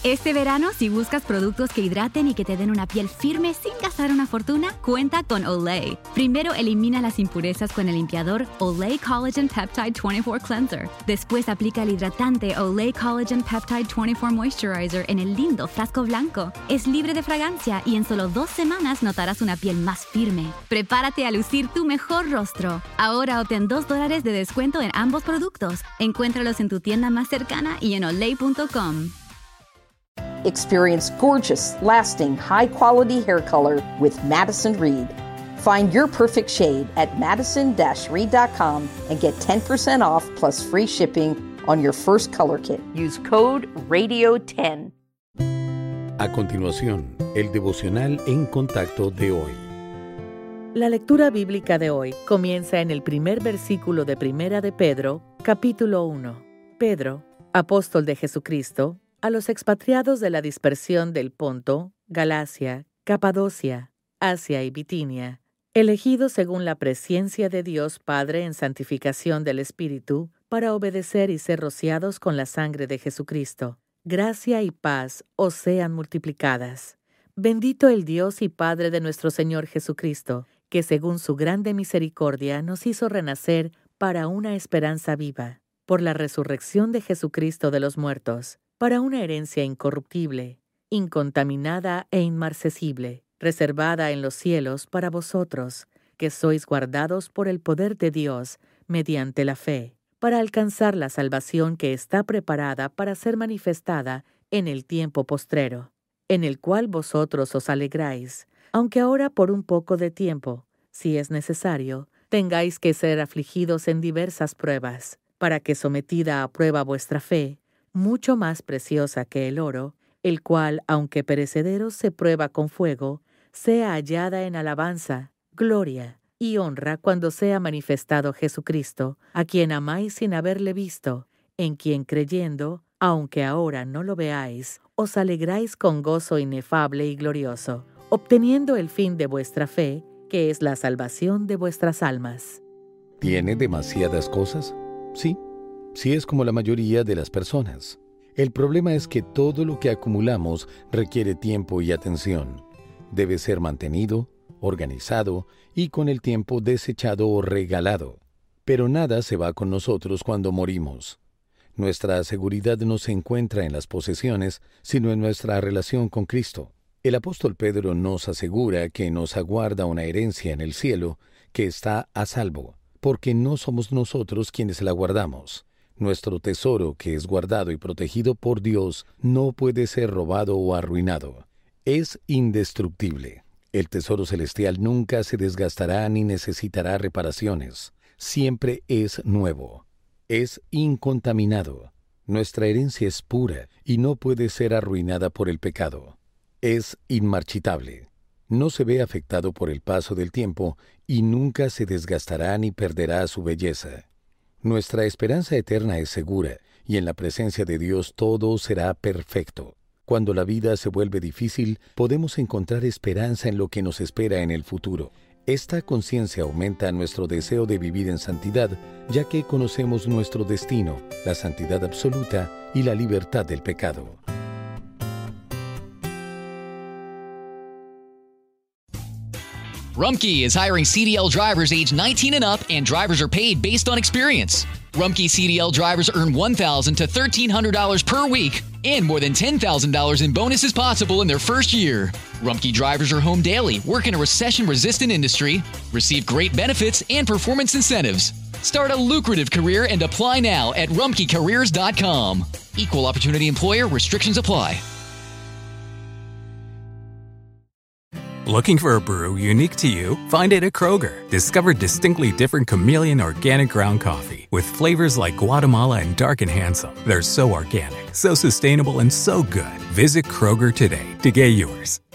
Este verano, si buscas productos que hidraten y que te den una piel firme sin gastar una fortuna, cuenta con Olay. Primero, elimina las impurezas con el limpiador Olay Collagen Peptide 24 Cleanser. Después, aplica el hidratante Olay Collagen Peptide 24 Moisturizer en el lindo frasco blanco. Es libre de fragancia y en solo 2 semanas notarás una piel más firme. Prepárate a lucir tu mejor rostro. Ahora obtén $2 de descuento en ambos productos. Encuéntralos en tu tienda más cercana y en olay.com. Experience gorgeous, lasting, high-quality hair color with Madison Reed. Find your perfect shade at madison-reed.com and get 10% off plus free shipping on your first color kit. Use code RADIO10. A continuación, el devocional en contacto de hoy. La lectura bíblica de hoy comienza en el primer versículo de Primera de Pedro, capítulo 1. Pedro, apóstol de Jesucristo, a los expatriados de la dispersión del Ponto, Galacia, Capadocia, Asia y Bitinia, elegidos según la presciencia de Dios Padre en santificación del Espíritu, para obedecer y ser rociados con la sangre de Jesucristo. Gracia y paz os sean multiplicadas. Bendito el Dios y Padre de nuestro Señor Jesucristo, que según su grande misericordia nos hizo renacer para una esperanza viva, por la resurrección de Jesucristo de los muertos, para una herencia incorruptible, incontaminada e inmarcesible, reservada en los cielos para vosotros, que sois guardados por el poder de Dios mediante la fe, para alcanzar la salvación que está preparada para ser manifestada en el tiempo postrero, en el cual vosotros os alegráis, aunque ahora por un poco de tiempo, si es necesario, tengáis que ser afligidos en diversas pruebas, para que sometida a prueba vuestra fe, mucho más preciosa que el oro, el cual, aunque perecedero se prueba con fuego, sea hallada en alabanza, gloria y honra cuando sea manifestado Jesucristo, a quien amáis sin haberle visto, en quien creyendo, aunque ahora no lo veáis, os alegráis con gozo inefable y glorioso, obteniendo el fin de vuestra fe, que es la salvación de vuestras almas. ¿Tiene demasiadas cosas? Sí. Sí es como la mayoría de las personas. El problema es que todo lo que acumulamos requiere tiempo y atención. Debe ser mantenido, organizado y con el tiempo desechado o regalado. Pero nada se va con nosotros cuando morimos. Nuestra seguridad no se encuentra en las posesiones, sino en nuestra relación con Cristo. El apóstol Pedro nos asegura que nos aguarda una herencia en el cielo que está a salvo, porque no somos nosotros quienes la guardamos. Nuestro tesoro, que es guardado y protegido por Dios, no puede ser robado o arruinado. Es indestructible. El tesoro celestial nunca se desgastará ni necesitará reparaciones. Siempre es nuevo. Es incontaminado. Nuestra herencia es pura y no puede ser arruinada por el pecado. Es inmarchitable. No se ve afectado por el paso del tiempo y nunca se desgastará ni perderá su belleza. Nuestra esperanza eterna es segura, y en la presencia de Dios todo será perfecto. Cuando la vida se vuelve difícil, podemos encontrar esperanza en lo que nos espera en el futuro. Esta conciencia aumenta nuestro deseo de vivir en santidad, ya que conocemos nuestro destino, la santidad absoluta y la libertad del pecado. Rumpke is hiring CDL drivers age 19 and up, and drivers are paid based on experience. Rumpke CDL drivers earn $1,000 to $1,300 per week, and more than $10,000 in bonuses possible in their first year. Rumpke drivers are home daily, work in a recession-resistant industry, receive great benefits and performance incentives. Start a lucrative career and apply now at rumpkecareers.com. Equal opportunity employer. Restrictions apply. Looking for a brew unique to you? Find it at Kroger. Discover distinctly different Chameleon organic ground coffee with flavors like Guatemala and Dark and Handsome. They're so organic, so sustainable, and so good. Visit Kroger today to get yours.